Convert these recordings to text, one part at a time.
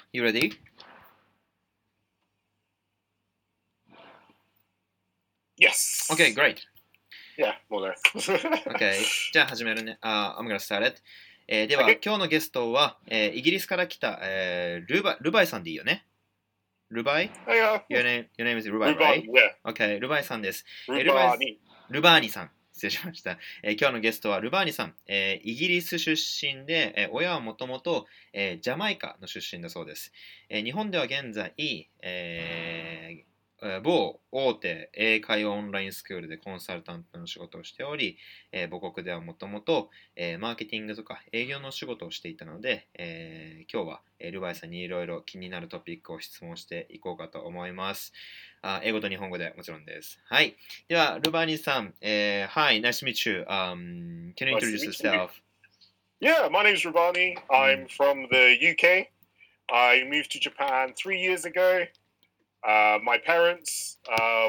You ready? Yes. Okay, great. Yeah, more or less. Okay. じゃあ始めるね。I'm gonna start it. では、今日のゲストは、イギリスから来た、ルバイさんでいいよね。ルバイ Yeah. your name is ルバイ、right? Rubani, yeah. Okay, ルバイさんです。 Rubani. ルバーニさん。失礼しました。今日のゲストはルバーニさん。イギリス出身で、親はもともとジャマイカの出身だそうです。日本では現在、某大手英会話オンラインスクールでコンサルタントの仕事をしており、母国ではもともとマーケティングとか営業の仕事をしていたので、今日はルバイさんにいろいろ気になるトピックを質問していこうかと思います。英語と日本語でもちろんです。はい。では、ルバーニさん、Hi, nice to meet you. Can you Nice to introduce meet you. yourself? Yeah, my name's Rubani. I'm from the UK. I moved to Japan 3 years ago. My parents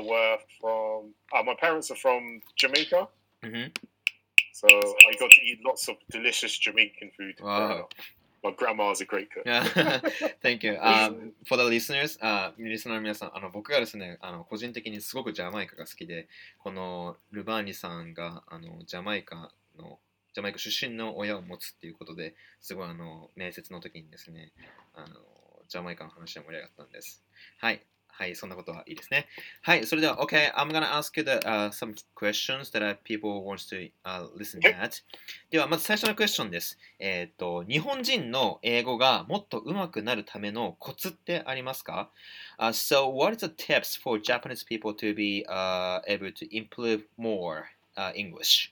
my parents are from Jamaica. Mm-hmm. So I got to eat lots of delicious Jamaican food growing Wow. up. My grandma's a great cook. Thank you. For the listeners, リスナーの皆さん、僕がですね、個人的にすごくジャマイカが好きで、このルバーニさんがジャマイカ出身の親を持つっていうことで、すごい面接の時にですね、ジャマイカの話で盛り上がったんです。はい。はい、そんなことはいいですね。はい、それでは、OK, I'm gonna ask you some questions that people wants to listen Okay. at. では、まず最初のクエスチョンです。日本人の英語がもっと上手くなるためのコツってありますか？ So, what is the tips for Japanese people to be able to improve more English?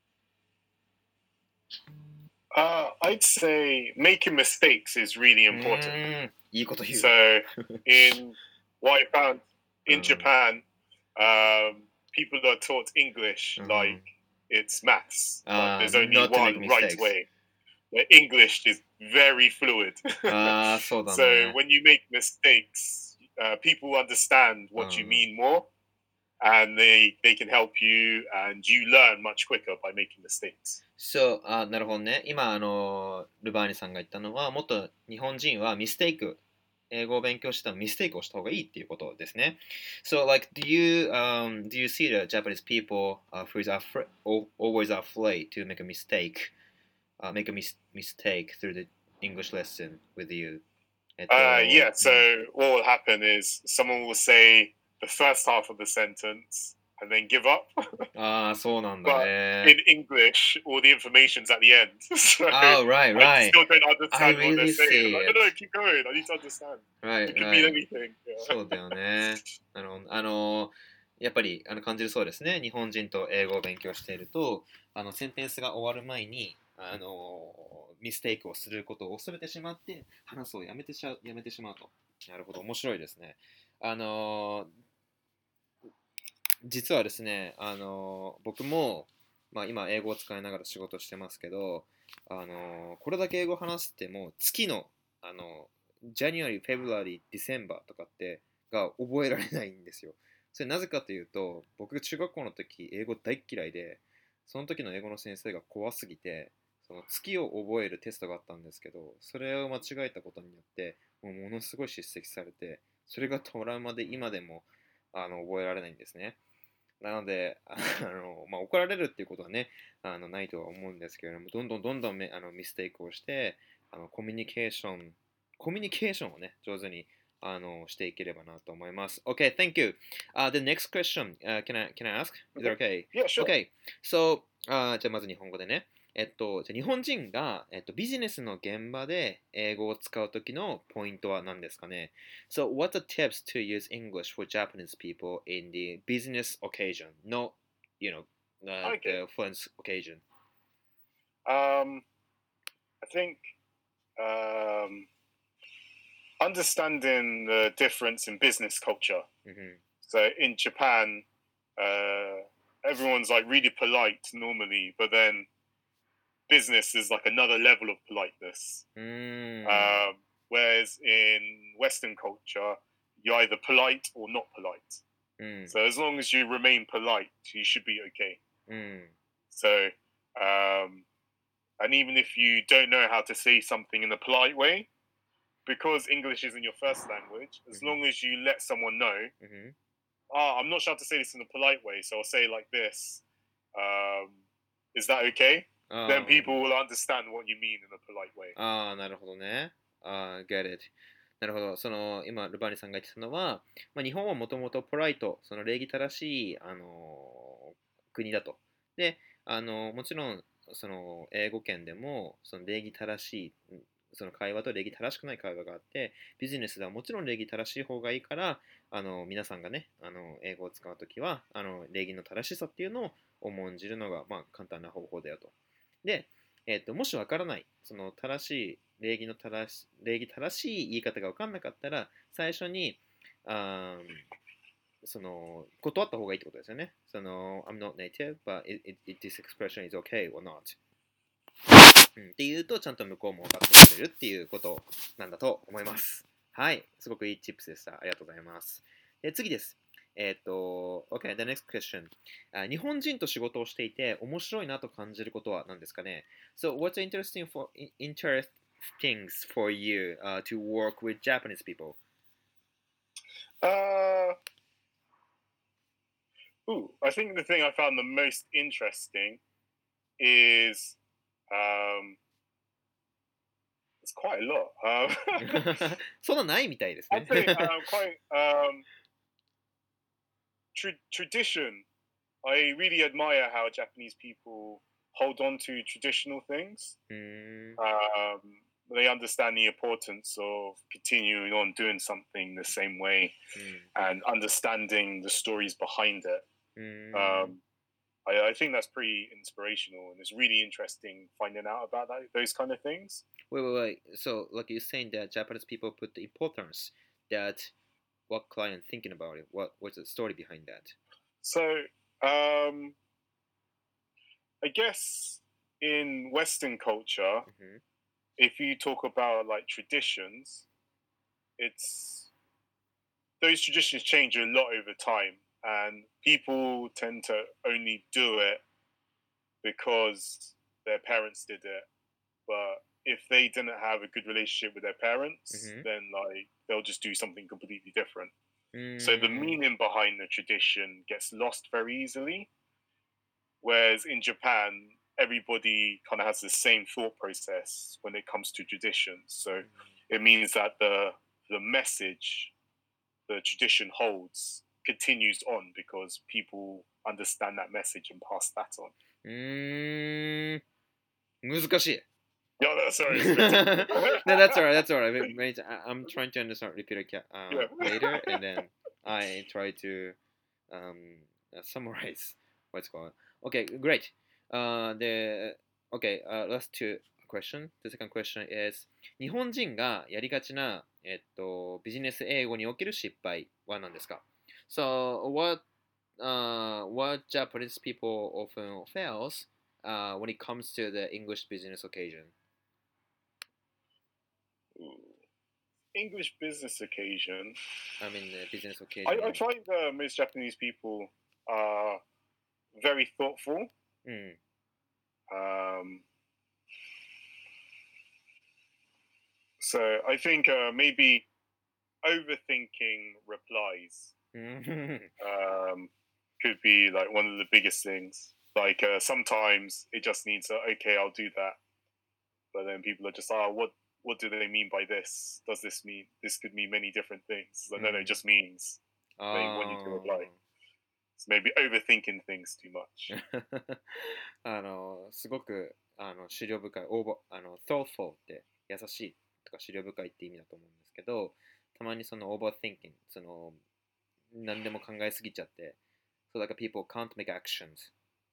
I'd say making mistakes is really important. いいこと言う。 So, in what I found in Japan, people are taught English like it's maths. Like there's only not to make one right mistakes. way. The English is very fluid. そうだ So ね。 when you make mistakes, people understand what you mean more, and they can help you, and you learn much quicker by making mistakes. そう、なるほどね。今、ルバーニさんが言ったのは、もっと日本人はミステイク、英語を勉強してたらミステイクをした方がいいっていうことですね。So, like, do you see the Japanese people who is always afraid to make a mistake, make a mistake through the English lesson with you? Yeah, so what will happen is someone will say the first half of the sentence and then give up. そうなんだ But ね。 in English, all the information's at the end. So Oh, right, I right. still don't I understand what really they're saying. see I'm like, it. no, keep going. I need to understand. Right, It could mean right. anything. Yeah. そうだよね。やっぱり感じるそうですね。日本人と英語を勉強していると、センテンスが終わる前に、ミステイクをすることを恐れてしまって、話すをやめてしまうと。なるほど、面白いですね。実はですね、僕も、まあ、今英語を使いながら仕事してますけど、これだけ英語を話しても月の、January, February, December とかってが覚えられないんですよ。それなぜかというと、僕が中学校の時英語大嫌いで、その時の英語の先生が怖すぎて、その月を覚えるテストがあったんですけど、それを間違えたことによって、ものすごい叱責されて、それがトラウマで今でも覚えられないんですね。なので、まあ、怒られるっていうことはね、ないとは思うんですけれども、どんどんミステイクをして、コミュニケーションをね、上手にしていければなと思います。Okay, thank you. The next question, can I ask? Is that okay? Yeah, sure. Okay, so, じゃあまず日本語でね。じゃあ日本人が、ビジネスの現場で英語を使うときのポイントは何ですかね？ So, what's the tips to use English for Japanese people in the business occasion, not, you know, Okay. the fun occasion? I think understanding the difference in business culture. Mm-hmm. So in Japan, everyone's like really polite normally, but then business is like another level of politeness. Whereas in Western culture, you're either polite or not polite. So as long as you remain polite, you should be okay. So, and even if you don't know how to say something in a polite way, because English isn't your first language, as Mhm. long as you let someone know, I'm not sure how to say this in a polite way, so I'll say it like this. Is that okay? Then people will understand what you mean in a polite way. なるほどね。get it. なるほど。今、ルバーニさんが言ってたのは、日本はもともとポライト、その礼儀正しい、国だと。で、もちろん、英語圏でも、その礼儀正しい、その会話と礼儀正しくない会話があって、ビジネスではもちろん礼儀正しい方がいいから、皆さんがね、英語を使うときは、礼儀の正しさっていうのを重んじるのが、簡単な方法だよと。で、もしわからない、その正しい、礼儀正しい言い方が分かんなかったら、最初に、断った方がいいってことですよね。I'm not native, but this expression is okay or not. っていうと、ちゃんと向こうも分かってくれるっていうことなんだと思います。はい、すごくいいチップスでした。ありがとうございます。で、次です。OK, the next question. 日本人と仕事をしていて面白いなと感じることは何ですかね？ So, what's interesting for you to work with Japanese people? I think the thing I found the most interesting is it's quite a lot. そんなないみたいですね。 I'd say quite tradition. I really admire how Japanese people hold on to traditional things. They understand the importance of continuing on doing something the same way and understanding the stories behind it. I think that's pretty inspirational, and it's really interesting finding out about those kind of things. Wait. So, like you're saying that Japanese people put the importance that what client thinking about it? What's the story behind that? So, I guess in Western culture, if you talk about like traditions, those traditions change a lot over time, and people tend to only do it because their parents did it. But if they didn't have a good relationship with their parents, then like they'll just do something completely different. So the meaning behind the tradition gets lost very easily. Whereas in Japan, everybody kind of has the same thought process when it comes to traditions. So it means that the message the tradition holds continues on because people understand that message and pass that on. 難しい。 Yeah, sorry. No, that's alright. I'm trying to understand. Repeat it later, and then I try to summarize what's going on. Okay, great. Last two question. The second question is 日本人がやりがちな、ビジネス英語における失敗は何ですか？ So, what Japanese people often fails when it comes to the English business occasion? English business occasion. I mean, business occasion. I find most Japanese people are very thoughtful. So I think maybe overthinking replies could be like one of the biggest things. Like sometimes it just needs okay, I'll do that. But then people are just, what do they mean by this? Does this mean this could mean many different things? No, it just means they want you to reply. So maybe overthinking things too much. すごく思慮深い、thoughtful って優しいとか思慮深いって意味だと思うんですけど、たまにその overthinking、何でも考えすぎちゃって、so like people can't make actions.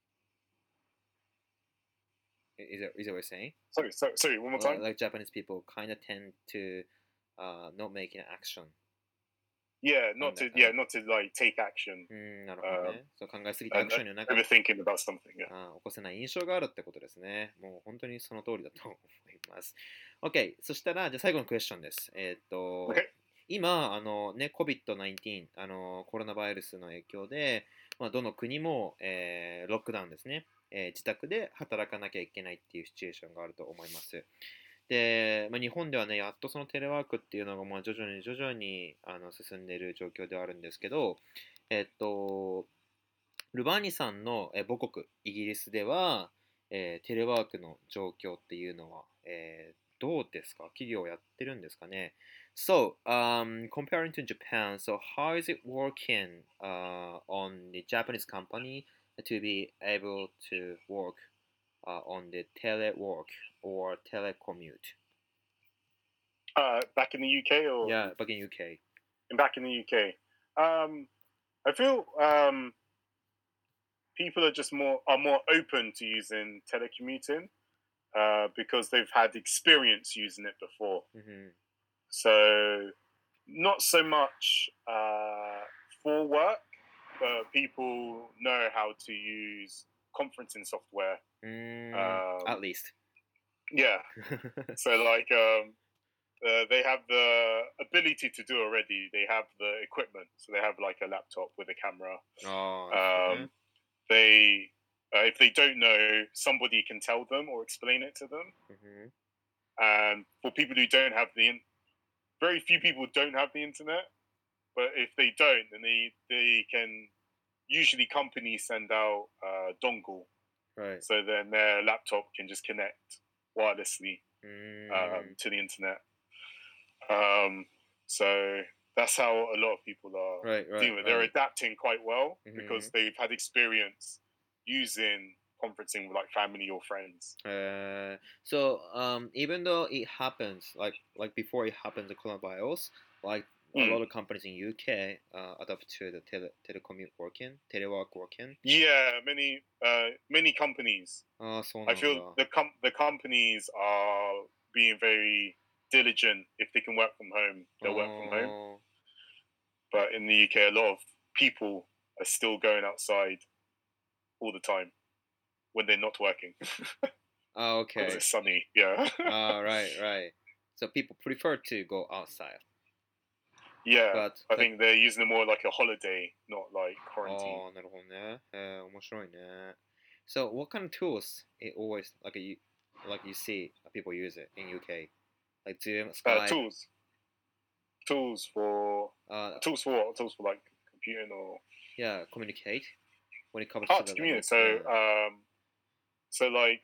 Is that what you're saying? Sorry, one more time. Like Japanese people kind of tend to not make an action. Yeah, not to like take action. なるほどね。そう考えすぎてアクションになか overthinking about something. 起こせない印象があるってことですね。もう本当にその通りだと思います。OK、そしたら、じゃあ最後のクエスチョンです。今、COVID-19、コロナウイルスの影響で、どの国も、ロックダウンですね。自宅で働かなきゃいけないっていうシチュエーションがあると思います。 で、まあ、日本ではね、やっとそのテレワークっていうのがまあ徐々に徐々に進んでいる状況ではあるんですけど、えっと、ルバーニさんの母国イギリスでは、テレワークの状況っていうのは、どうですか？企業やってるんですかね？ So, comparing to Japan, so how is it working on the Japanese company to be able to work on the telework or telecommute? Back in the UK or Yeah, back in UK. back in the UK. I feel people are more open to using telecommuting because they've had experience using it before. Mm-hmm. So not so much for work, but people know how to use conferencing software. At least. Yeah. So like they have the ability to do already. They have the equipment, so they have like a laptop with a camera. ああ、ね。 They if they don't know, somebody can tell them or explain it to them. Mm-hmm. And for people who don't have very few people don't have the internet. But if they don't, then they can usually companies send out dongle, Right. so then their laptop can just connect wirelessly to the internet. So that's how a lot of people are Right, right, dealing with. They're right. adapting quite well because Mhm. they've had experience using conferencing with like family or friends. So even though it happens like before it happened the coronavirus, like a Mm. lot of companies in UK adapt to the telework working. Yeah, many companies. ああ、そうな I ん feel だ。 the companies are being very diligent. If they can work from home, あ they'll work from home. ー But in the UK, a lot of people are still going outside all the time when they're not working Ah, because okay. it's sunny. Yeah, Right, right. So people prefer to go outside, yeah. but I think they're using it more like a holiday, not like あ quarantine. あ、なるほどね。面白いね。So what kind of tools it always like you see people use it in UK? Like Zoom, Skype, Tools, tools for uh, tools for what? Tools for like computing or yeah, communicate when it comes to hard the to like communicate. yeah. So like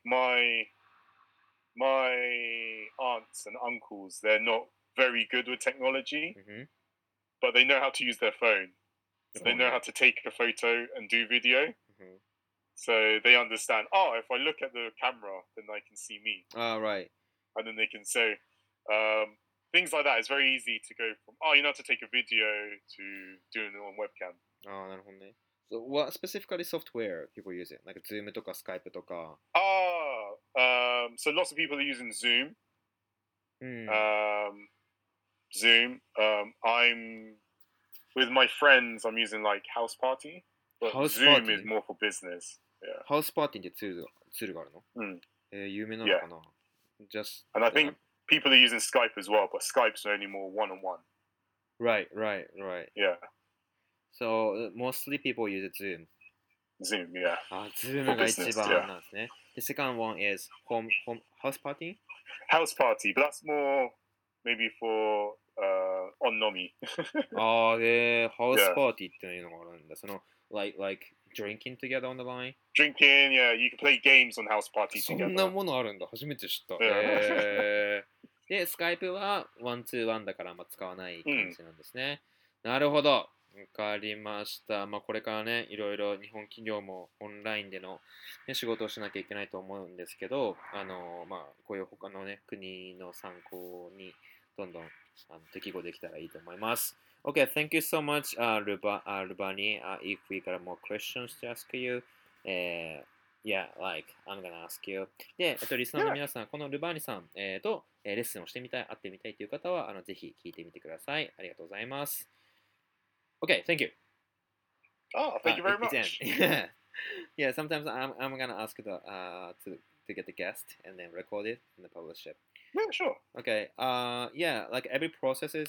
my aunts and uncles, they're not very good with technology, Mm-hmm. but they know how to use their phone. So they know how to take a photo and do video. Mm-hmm. So they understand, oh, if I look at the camera, then they can see me. Ah, right. And then they can say, things like that. It's very easy to go from, oh, you know how to take a video to doing it on webcam. ああ、なるほどね。So what specifically software people use it? Like Zoom とか Skype とか。 So lots of people are using Zoom. うん。 Zoom. I'm with my friends. I'm using like House Party, but House Zoom Party? is more for business. Yeah. ハウスパーティーってツールがあるの？ Mm. 有名なの Yeah. かな？ Just And I think people are using Skype as well, but Skype's only more one on one. right, right, right. Yeah. So mostly people use Zoom. Zoom. Yeah. あ、Zoom For が一 business. 番 Yeah. なんですね。The second one is home house party? House Party, but that's more maybe for on Nomi. ああ、で、ハウス Yeah. パーティーっていうのがあるんだ。その、like drinking together on the line? Drinking. Yeah. You can play games on House Party そんな together. ものあるんだ。初めて知った。 Yeah. で、スカイプはワンツーワンだからあんま使わない感うんじなんですね。なるほど。わかりました。まあ、これからね、いろいろ日本企業もオンラインでの、ね、仕事をしなきゃいけないと思うんですけど、まあ、こういう他のね、国の参考にどんどん適合できたらいいと思います。Okay, thank you so much, Rubani. If we got more questions to ask you, yeah, like, I'm gonna ask you. で、リスナーの皆さん、このルバーニさん、と、レッスンをしてみたい、会ってみたいという方は、ぜひ聞いてみてください。ありがとうございます。Okay, thank you. Oh, thank you very It's much. yeah, yeah. Sometimes I'm gonna ask to get the guest and then record it and then publish it. Yeah, sure. Okay. Yeah. Like every process is